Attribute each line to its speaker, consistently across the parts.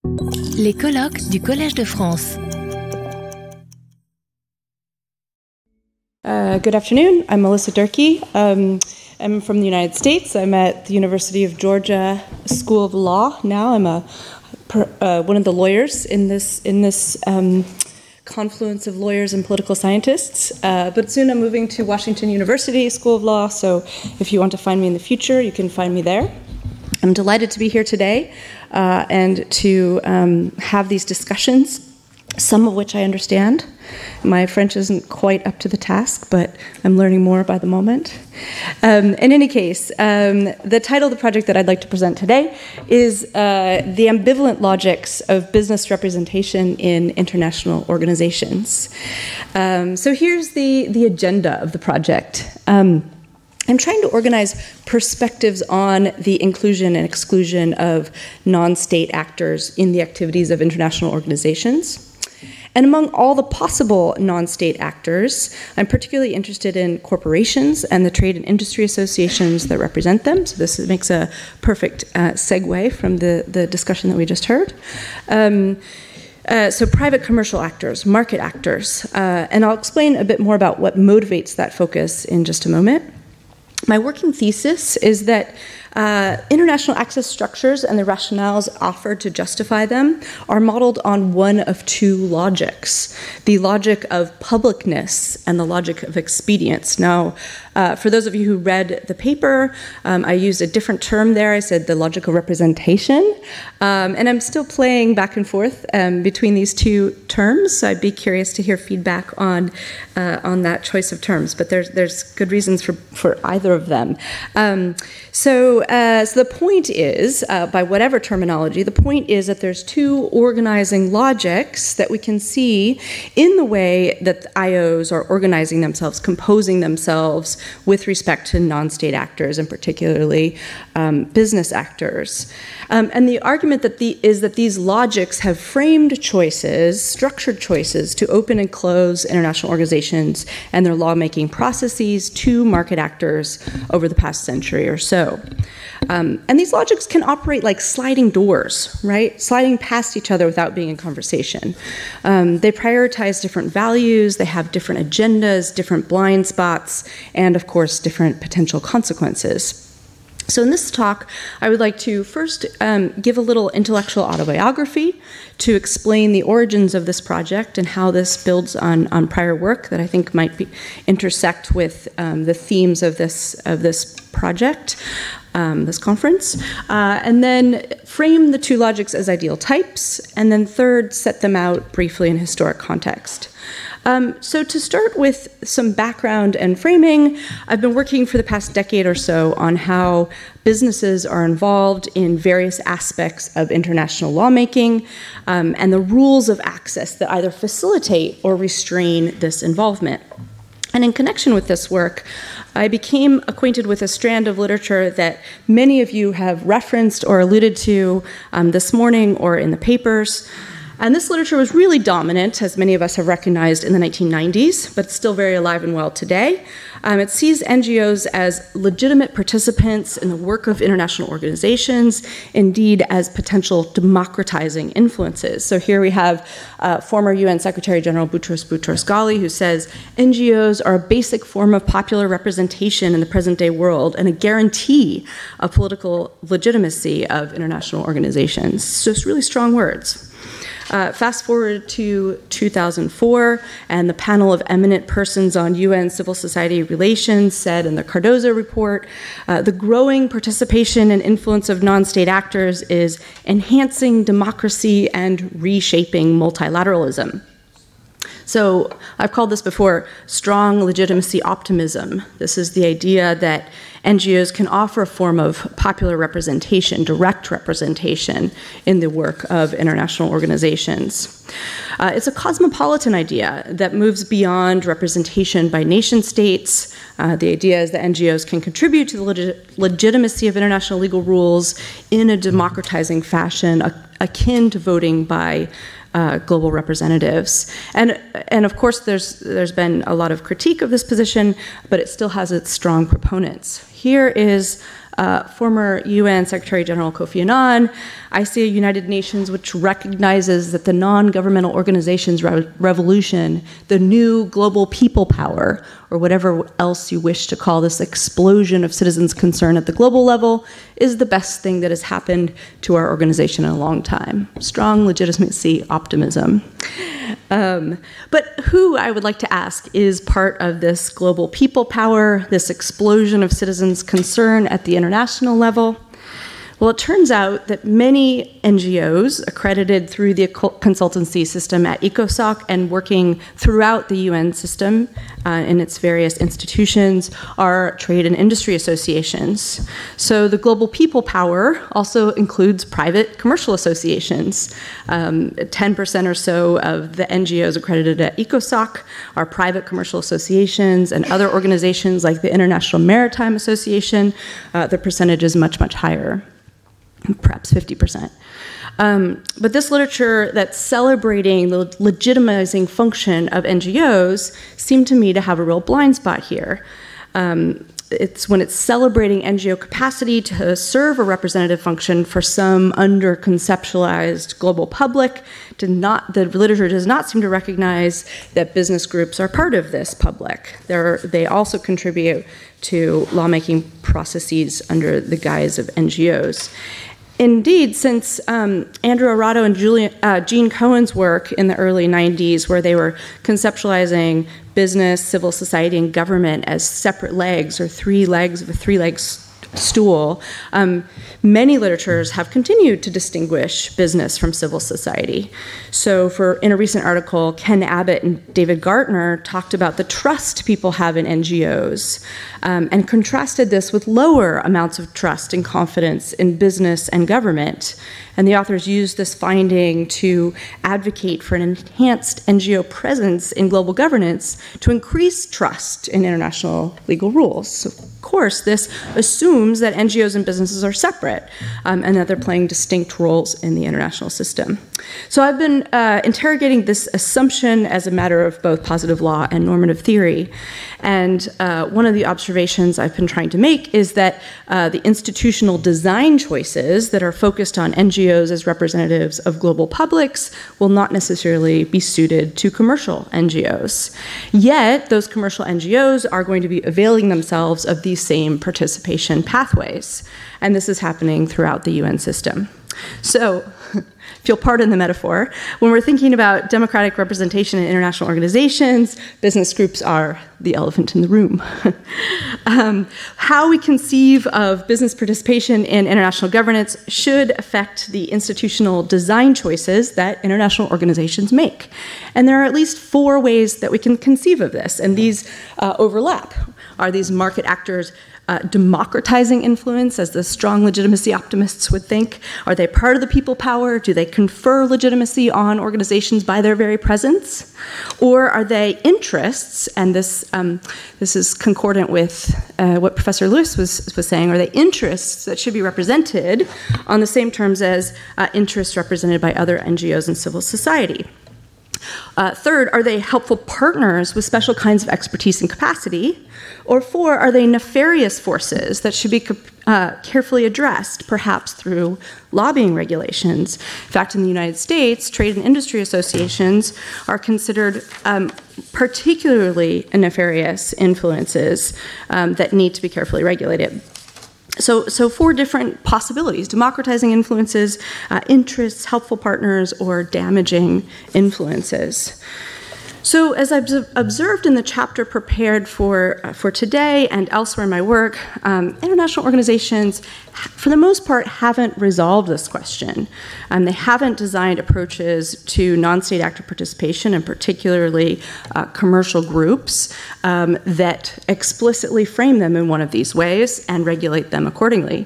Speaker 1: Les colloques du Collège de France.
Speaker 2: Good afternoon. I'm Melissa Durkee. I'm from the United States. I'm at the University of Georgia School of Law now. I'm one of the lawyers in this confluence of lawyers and political scientists. But soon I'm moving to Washington University School of Law, so if you want to find me in the future, you can find me there. I'm delighted to be here today and to have these discussions, some of which I understand. My French isn't quite up to the task, but I'm learning more by the moment. In any case, the title of the project that I'd like to present today is The Ambivalent Logics of Business Representation in International Organizations. So here's the agenda of the project. I'm trying to organize perspectives on the inclusion and exclusion of non-state actors in the activities of international organizations. And among all the possible non-state actors, I'm particularly interested in corporations and the trade and industry associations that represent them. So this makes a perfect segue from the discussion that we just heard. So private commercial actors, market actors, and I'll explain a bit more about what motivates that focus in just a moment. My working thesis is that international access structures and the rationales offered to justify them are modeled on one of two logics, the logic of publicness and the logic of expedience. Now, for those of you who read the paper, I used a different term there. I said the logic of representation, and I'm still playing back and forth between these two terms, so I'd be curious to hear feedback on that choice of terms, but there's good reasons for either of them. So the point is, by whatever terminology, the point is that there's two organizing logics that we can see in the way that IOs are organizing themselves, composing themselves with respect to non-state actors, and particularly business actors. And the argument is that these logics have framed choices, structured choices, to open and close international organizations and their lawmaking processes to market actors over the past century or so. And these logics can operate like sliding doors, right? Sliding past each other without being in conversation. They prioritize different values, they have different agendas, different blind spots, and of course, different potential consequences. So in this talk, I would like to first give a little intellectual autobiography to explain the origins of this project and how this builds on prior work that I think might intersect with the themes of this project, this conference, and then frame the two logics as ideal types, and then third, set them out briefly in historic context. So to start with some background and framing, I've been working for the past decade or so on how businesses are involved in various aspects of international lawmaking and the rules of access that either facilitate or restrain this involvement. And in connection with this work, I became acquainted with a strand of literature that many of you have referenced or alluded to this morning or in the papers. And this literature was really dominant, as many of us have recognized, in the 1990s, but it's still very alive and well today. It sees NGOs as legitimate participants in the work of international organizations, indeed as potential democratizing influences. So here we have former UN Secretary General Boutros Boutros-Ghali, who says, NGOs are a basic form of popular representation in the present-day world and a guarantee of political legitimacy of international organizations. So it's really strong words. Fast forward to 2004, and the panel of eminent persons on UN civil society relations said in the Cardozo report, the growing participation and influence of non-state actors is enhancing democracy and reshaping multilateralism. So I've called this before strong legitimacy optimism. This is the idea that NGOs can offer a form of popular representation, direct representation in the work of international organizations. It's a cosmopolitan idea that moves beyond representation by nation states. The idea is that NGOs can contribute to the legitimacy of international legal rules in a democratizing fashion, akin to voting by global representatives. And of course, there's been a lot of critique of this position, but it still has its strong proponents. Here is former UN Secretary General Kofi Annan. I see a United Nations which recognizes that the non-governmental organizations revolution, the new global people power, or whatever else you wish to call this explosion of citizens' concern at the global level, is the best thing that has happened to our organization in a long time. Strong legitimacy optimism. But who, I would like to ask, is part of this global people power, this explosion of citizens' concern at the international level? Well, it turns out that many NGOs accredited through the consultancy system at ECOSOC and working throughout the UN system in its various institutions are trade and industry associations. So the global people power also includes private commercial associations. 10% or so of the NGOs accredited at ECOSOC are private commercial associations, and other organizations like the International Maritime Association, the percentage is much, much higher. Perhaps 50%. But this literature that's celebrating the legitimizing function of NGOs seemed to me to have a real blind spot here. It's when it's celebrating NGO capacity to serve a representative function for some under-conceptualized global public, the literature does not seem to recognize that business groups are part of this public. They also contribute to lawmaking processes under the guise of NGOs. Indeed, since Andrew Arado and Gene Cohen's work in the early 90s, where they were conceptualizing business, civil society, and government as separate legs or three legs of a three-leg stool, many literatures have continued to distinguish business from civil society. So in a recent article, Ken Abbott and David Gartner talked about the trust people have in NGOs and contrasted this with lower amounts of trust and confidence in business and government. And the authors used this finding to advocate for an enhanced NGO presence in global governance to increase trust in international legal rules. So, of course, this assumes that NGOs and businesses are separate and that they're playing distinct roles in the international system. So I've been interrogating this assumption as a matter of both positive law and normative theory. And one of the observations I've been trying to make is that the institutional design choices that are focused on NGOs as representatives of global publics will not necessarily be suited to commercial NGOs. Yet, those commercial NGOs are going to be availing themselves of these same participation pathways. And this is happening throughout the UN system. So, if you'll pardon the metaphor, when we're thinking about democratic representation in international organizations, business groups are the elephant in the room. How we conceive of business participation in international governance should affect the institutional design choices that international organizations make. And there are at least 4 ways that we can conceive of this, and these overlap. Are these market actors democratizing influence, as the strong legitimacy optimists would think? Are they part of the people power? Do they confer legitimacy on organizations by their very presence? Or are they interests, and this is concordant with what Professor Lewis was saying, are they interests that should be represented on the same terms as interests represented by other NGOs and civil society? Third, are they helpful partners with special kinds of expertise and capacity? Or 4, are they nefarious forces that should be carefully addressed, perhaps through lobbying regulations? In fact, in the United States, trade and industry associations are considered particularly nefarious influences that need to be carefully regulated. So 4 different possibilities: democratizing influences, interests, helpful partners, or damaging influences. So as I've observed in the chapter prepared for today and elsewhere in my work, international organizations, for the most part, haven't resolved this question. They haven't designed approaches to non-state actor participation, and particularly commercial groups, that explicitly frame them in one of these ways and regulate them accordingly.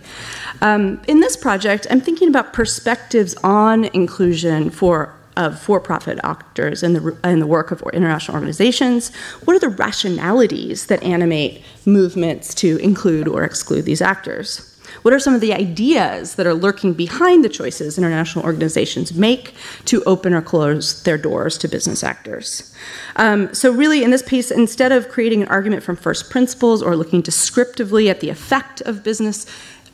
Speaker 2: In this project, I'm thinking about perspectives on inclusion of for-profit actors in the work of international organizations. What are the rationalities that animate movements to include or exclude these actors? What are some of the ideas that are lurking behind the choices international organizations make to open or close their doors to business actors? So really, in this piece, instead of creating an argument from first principles or looking descriptively at the effect of business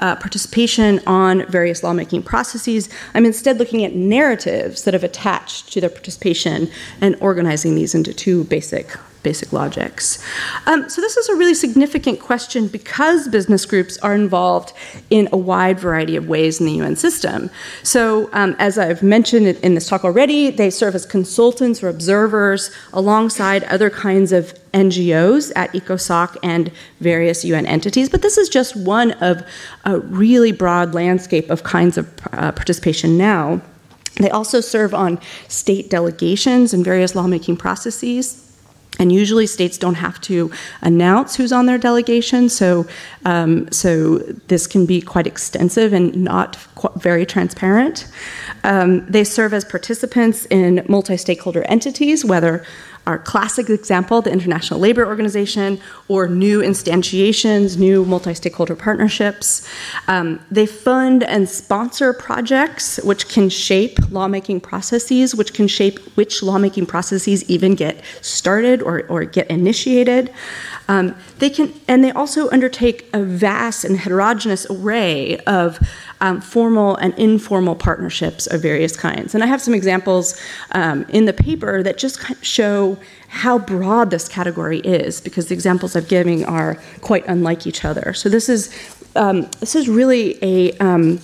Speaker 2: participation on various lawmaking processes. I'm instead looking at narratives that have attached to their participation and organizing these into two basic logics. So this is a really significant question because business groups are involved in a wide variety of ways in the UN system. So as I've mentioned in this talk already, they serve as consultants or observers alongside other kinds of NGOs at ECOSOC and various UN entities, but this is just one of a really broad landscape of kinds of participation now. They also serve on state delegations and various lawmaking processes. And usually states don't have to announce who's on their delegation, so this can be quite extensive and not very transparent. They serve as participants in multi-stakeholder entities, whether our classic example, the International Labour Organization, or new instantiations, new multi-stakeholder partnerships. They fund and sponsor projects which can shape lawmaking processes, which can shape which lawmaking processes even get started or get initiated. They also undertake a vast and heterogeneous array of formal and informal partnerships of various kinds. And I have some examples in the paper that just show how broad this category is, because the examples I'm giving are quite unlike each other. So this is really a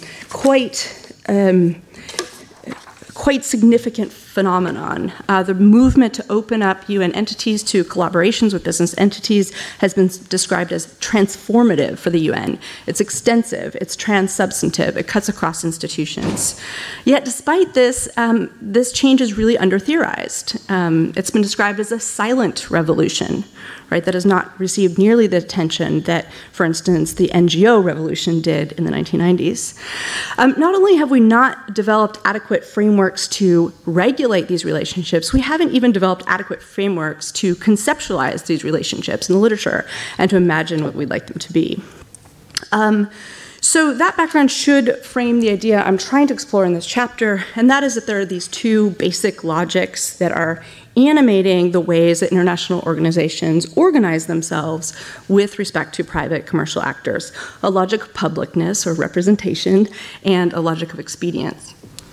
Speaker 2: quite significant phenomenon. The movement to open up UN entities to collaborations with business entities has been described as transformative for the UN. It's extensive, it's trans-substantive, it cuts across institutions. Yet despite this, this change is really under-theorized. It's been described as a silent revolution, right, that has not received nearly the attention that, for instance, the NGO revolution did in the 1990s. Not only have we not developed adequate frameworks to regulate these relationships, we haven't even developed adequate frameworks to conceptualize these relationships in the literature and to imagine what we'd like them to be. So that background should frame the idea I'm trying to explore in this chapter, and that is that there are these two basic logics that are animating the ways that international organizations organize themselves with respect to private commercial actors: a logic of publicness or representation and a logic of expedience.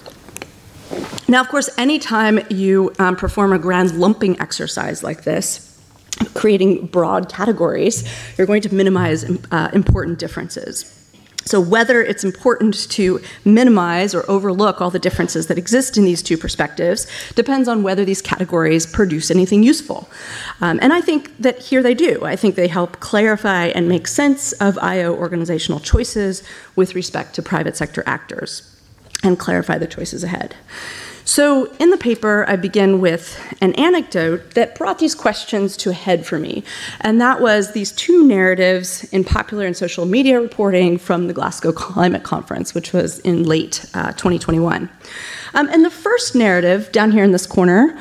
Speaker 2: Now, of course, anytime you perform a grand lumping exercise like this, creating broad categories, you're going to minimize important differences. So whether it's important to minimize or overlook all the differences that exist in these two perspectives depends on whether these categories produce anything useful. And I think that here they do. I think they help clarify and make sense of IO organizational choices with respect to private sector actors and clarify the choices ahead. So in the paper, I begin with an anecdote that brought these questions to a head for me, and that was these two narratives in popular and social media reporting from the Glasgow Climate Conference, which was in late 2021. And the first narrative, down here in this corner,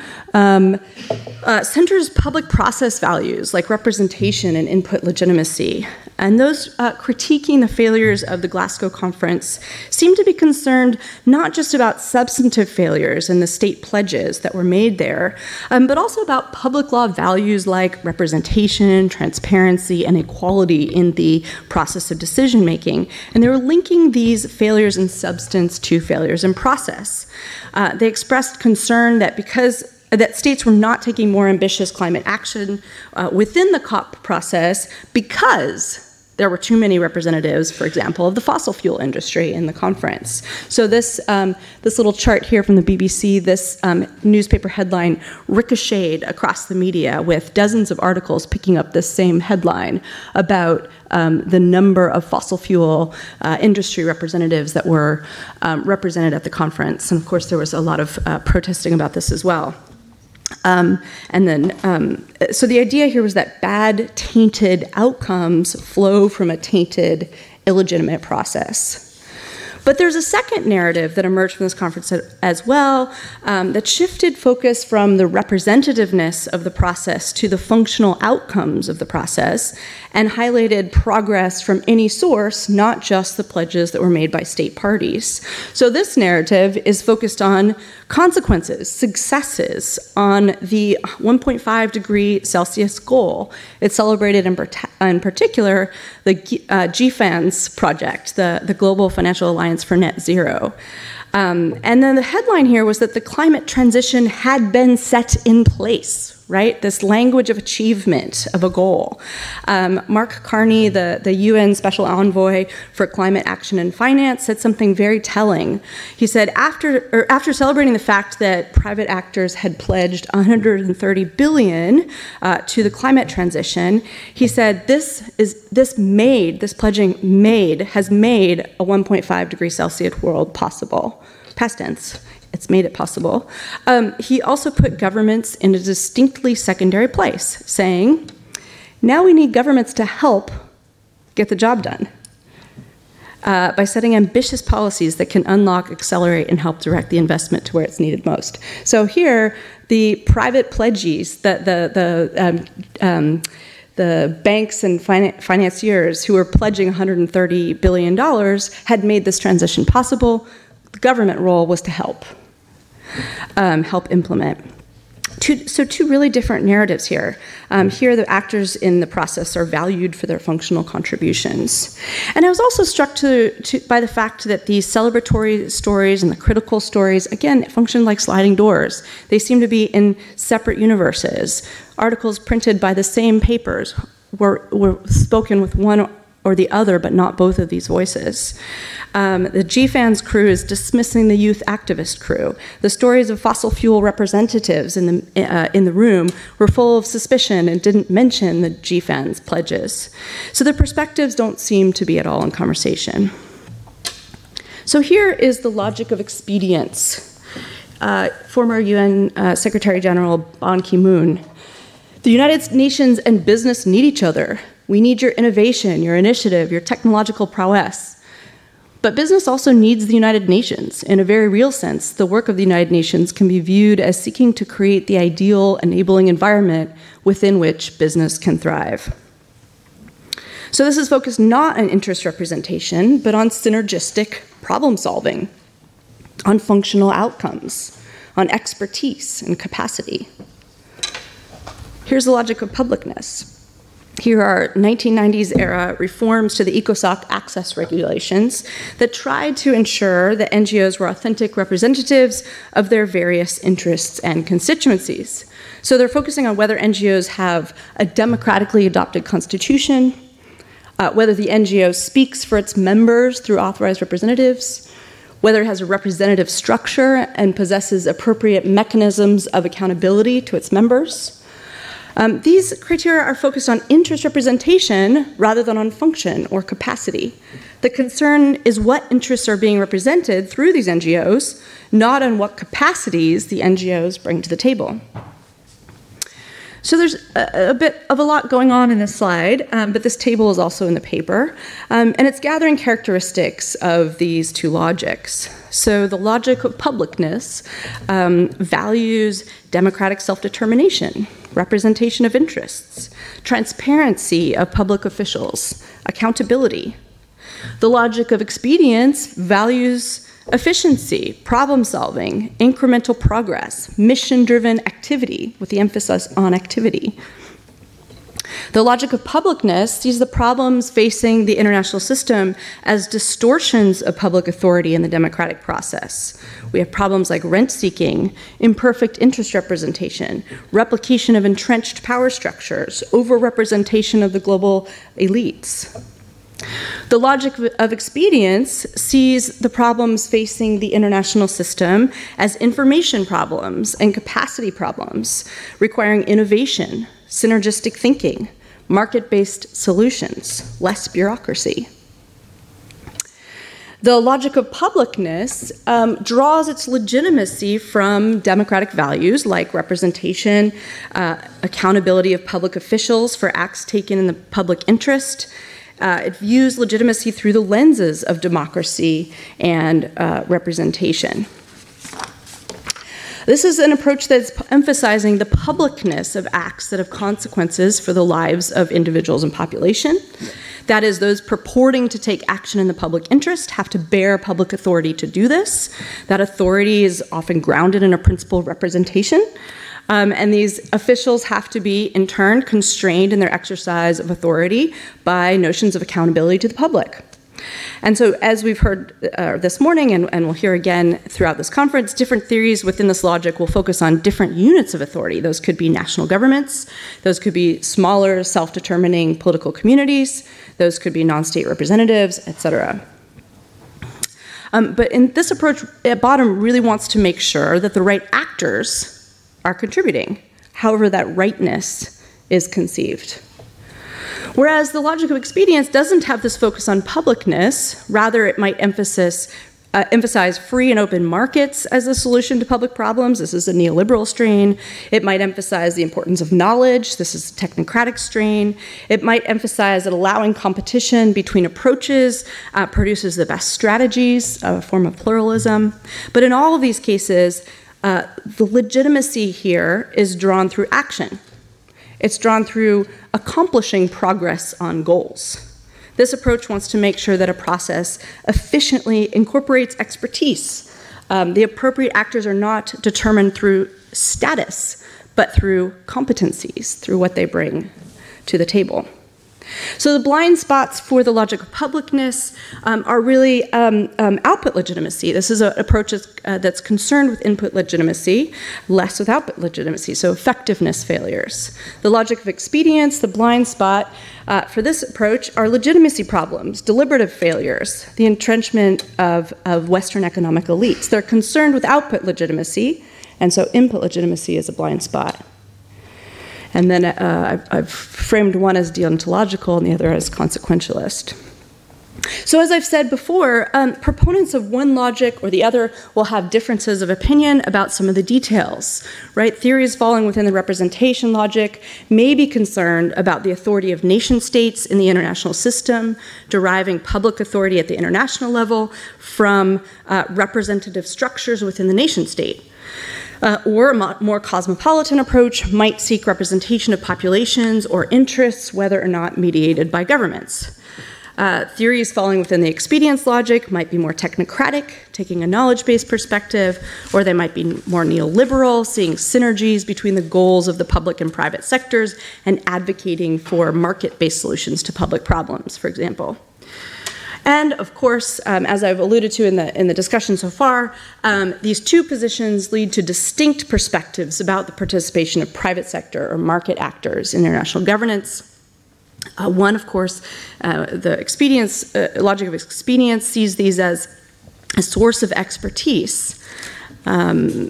Speaker 2: centers public process values like representation and input legitimacy. And those critiquing the failures of the Glasgow Conference seem to be concerned not just about substantive failures and the state pledges that were made there, but also about public law values like representation, transparency, and equality in the process of decision making. And they were linking these failures in substance to failures in process. They expressed concern that that states were not taking more ambitious climate action within the COP process because there were too many representatives, for example, of the fossil fuel industry in the conference. So this little chart here from the BBC, this newspaper headline ricocheted across the media with dozens of articles picking up this same headline about the number of fossil fuel industry representatives that were represented at the conference. And of course, there was a lot of protesting about this as well. So the idea here was that bad, tainted outcomes flow from a tainted, illegitimate process. But there's a second narrative that emerged from this conference as well that shifted focus from the representativeness of the process to the functional outcomes of the process and highlighted progress from any source, not just the pledges that were made by state parties. So this narrative is focused on consequences, successes on the 1.5 degree Celsius goal. It celebrated in particular GFANZ project, the Global Financial Alliance for Net Zero. And then the headline here was that the climate transition had been set in place, right? This language of achievement of a goal. Mark Carney, the UN Special Envoy for Climate Action and Finance, said something very telling. He said, after celebrating the fact that private actors had pledged $130 billion to the climate transition, he said, this pledging has made a 1.5 degrees Celsius world possible. Past tense. It's made it possible. He also put governments in a distinctly secondary place, saying, now we need governments to help get the job done by setting ambitious policies that can unlock, accelerate, and help direct the investment to where it's needed most. So here, the private pledgees, the banks and financiers who were pledging $130 billion had made this transition possible. The government role was to help implement. Two really different narratives here. Here, the actors in the process are valued for their functional contributions. And I was also struck by the fact that these celebratory stories and the critical stories, again, function like sliding doors. They seem to be in separate universes. Articles printed by the same papers were spoken with one or the other, but not both of these voices. The GFANZ crew is dismissing the youth activist crew. The stories of fossil fuel representatives in the room were full of suspicion and didn't mention the GFANZ pledges. So the perspectives don't seem to be at all in conversation. So here is the logic of expedience. Former UN Secretary General Ban Ki-moon. The United Nations and business need each other. We need your innovation, your initiative, your technological prowess. But business also needs the United Nations. In a very real sense, the work of the United Nations can be viewed as seeking to create the ideal enabling environment within which business can thrive. So this is focused not on interest representation, but on synergistic problem solving, on functional outcomes, on expertise and capacity. Here's the logic of publicness. Here are 1990s-era reforms to the ECOSOC access regulations that tried to ensure that NGOs were authentic representatives of their various interests and constituencies. So they're focusing on whether NGOs have a democratically adopted constitution, whether the NGO speaks for its members through authorized representatives, whether it has a representative structure and possesses appropriate mechanisms of accountability to its members. These criteria are focused on interest representation rather than on function or capacity. The concern is what interests are being represented through these NGOs, not on what capacities the NGOs bring to the table. So there's a bit of a lot going on in this slide, but this table is also in the paper, and it's gathering characteristics of these two logics. So the logic of publicness values democratic self-determination, representation of interests, transparency of public officials, accountability. The logic of expedience values efficiency, problem solving, incremental progress, mission-driven activity, with the emphasis on activity. The logic of publicness sees the problems facing the international system as distortions of public authority in the democratic process. We have problems like rent-seeking, imperfect interest representation, replication of entrenched power structures, over-representation of the global elites. The logic of expedience sees the problems facing the international system as information problems and capacity problems, requiring innovation, synergistic thinking, market-based solutions, less bureaucracy. The logic of publicness draws its legitimacy from democratic values like representation, accountability of public officials for acts taken in the public interest. It views legitimacy through the lenses of democracy and representation. This is an approach that's emphasizing the publicness of acts that have consequences for the lives of individuals and population. That is, those purporting to take action in the public interest have to bear public authority to do this. That authority is often grounded in a principle of representation. And these officials have to be, in turn, constrained in their exercise of authority by notions of accountability to the public. And so, as we've heard this morning, and we'll hear again throughout this conference, different theories within this logic will focus on different units of authority. Those could be national governments, those could be smaller, self-determining political communities, those could be non-state representatives, etc. But in this approach, Bottom really wants to make sure that the right actors are contributing, however that rightness is conceived. Whereas the logic of expedience doesn't have this focus on publicness, rather it might emphasize free and open markets as a solution to public problems. This is a neoliberal strain. It might emphasize the importance of knowledge. This is a technocratic strain. It might emphasize that allowing competition between approaches produces the best strategies, a form of pluralism. But in all of these cases, the legitimacy here is drawn through action. It's drawn through accomplishing progress on goals. This approach wants to make sure that a process efficiently incorporates expertise. The appropriate actors are not determined through status, but through competencies, through what they bring to the table. So the blind spots for the logic of publicness are really output legitimacy. This is an approach that's concerned with input legitimacy, less with output legitimacy, so effectiveness failures. The logic of expedience, the blind spot for this approach are legitimacy problems, deliberative failures, the entrenchment of Western economic elites. They're concerned with output legitimacy, and so input legitimacy is a blind spot. And then I've framed one as deontological and the other as consequentialist. So as I've said before, proponents of one logic or the other will have differences of opinion about some of the details, right? Theories falling within the representation logic may be concerned about the authority of nation states in the international system, deriving public authority at the international level from representative structures within the nation state. Or a more cosmopolitan approach might seek representation of populations or interests, whether or not mediated by governments. Theories falling within the expedience logic might be more technocratic, taking a knowledge-based perspective, or they might be more neoliberal, seeing synergies between the goals of the public and private sectors and advocating for market-based solutions to public problems, for example. And of course, as I've alluded to in the discussion so far, these two positions lead to distinct perspectives about the participation of private sector or market actors in international governance. One, of course, the expedience logic of expedience sees these as a source of expertise, and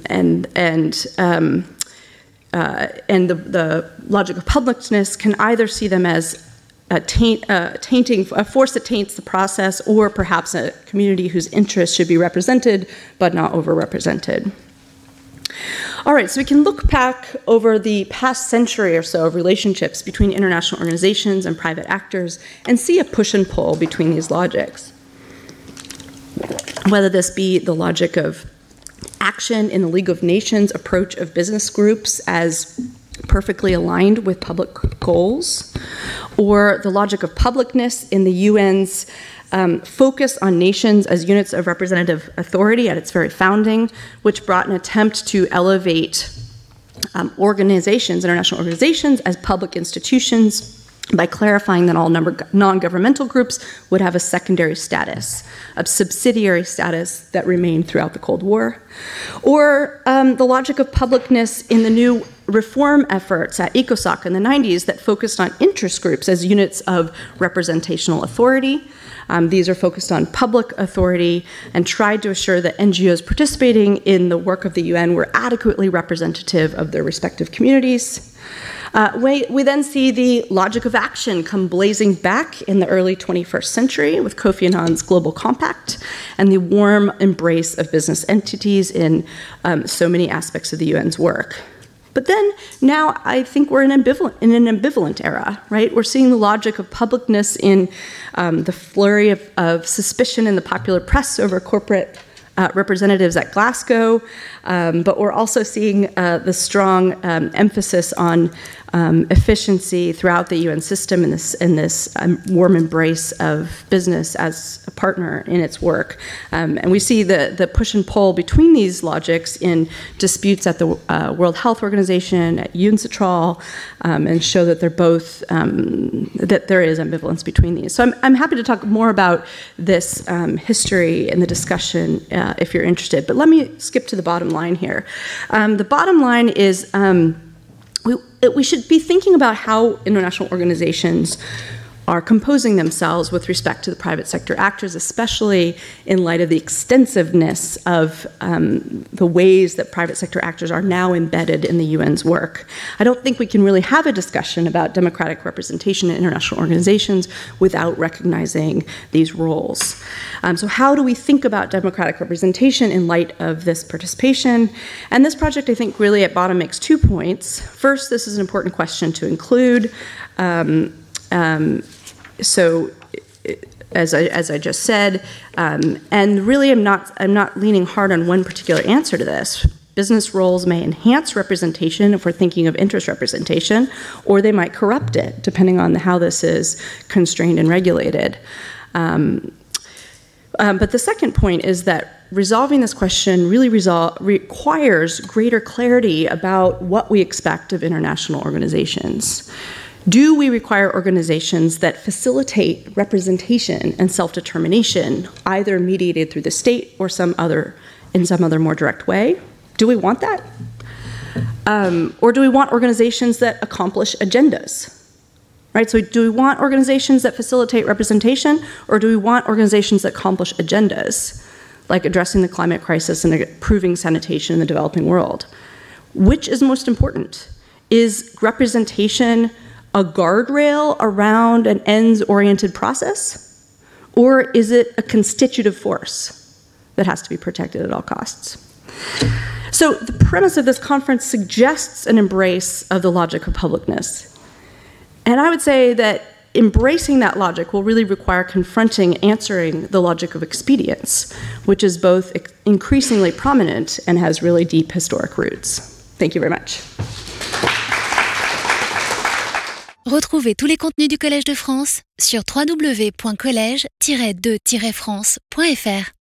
Speaker 2: the logic of publicness can either see them as a force that taints the process, or perhaps a community whose interests should be represented but not overrepresented. All right, so we can look back over the past century or so of relationships between international organizations and private actors and see a push and pull between these logics. Whether this be the logic of action in the League of Nations approach of business groups as perfectly aligned with public goals, or the logic of publicness in the UN's focus on nations as units of representative authority at its very founding, which brought an attempt to elevate international organizations, as public institutions by clarifying that all non-governmental groups would have a secondary status, a subsidiary status that remained throughout the Cold War. Or the logic of publicness in the new reform efforts at ECOSOC in the 90s that focused on interest groups as units of representational authority. These are focused on public authority and tried to assure that NGOs participating in the work of the UN were adequately representative of their respective communities. We then see the logic of action come blazing back in the early 21st century with Kofi Annan's Global Compact and the warm embrace of business entities in so many aspects of the UN's work. But then now I think we're in an ambivalent era, right? We're seeing the logic of publicness in the flurry of suspicion in the popular press over corporate representatives at Glasgow, but we're also seeing the strong emphasis on efficiency throughout the UN system in this warm embrace of business as a partner in its work. And we see the push and pull between these logics in disputes at the World Health Organization, at UNCITRAL, and show that they're both, that there is ambivalence between these. So I'm happy to talk more about this history in the discussion if you're interested. But let me skip to the bottom line here. The bottom line is we should be thinking about how international organizations are composing themselves with respect to the private sector actors, especially in light of the extensiveness of the ways that private sector actors are now embedded in the UN's work. I don't think we can really have a discussion about democratic representation in international organizations without recognizing these roles. So how do we think about democratic representation in light of this participation? And this project, I think, really at bottom makes 2 points. First, this is an important question to include. So, as I just said, and really I'm not leaning hard on one particular answer to this. Business roles may enhance representation if we're thinking of interest representation, or they might corrupt it, depending on how this is constrained and regulated. But the second point is that resolving this question really requires greater clarity about what we expect of international organizations. Do we require organizations that facilitate representation and self-determination, either mediated through the state or in some other more direct way? Do we want that? Or do we want organizations that accomplish agendas? Right? So do we want organizations that facilitate representation, or do we want organizations that accomplish agendas, like addressing the climate crisis and improving sanitation in the developing world? Which is most important? Is representation a guardrail around an ends-oriented process? Or is it a constitutive force that has to be protected at all costs? So the premise of this conference suggests an embrace of the logic of publicness. And I would say that embracing that logic will really require confronting, answering the logic of expedience, which is both increasingly prominent and has really deep historic roots. Thank you very much.
Speaker 1: Retrouvez tous les contenus du Collège de France sur www.collège-2-france.fr.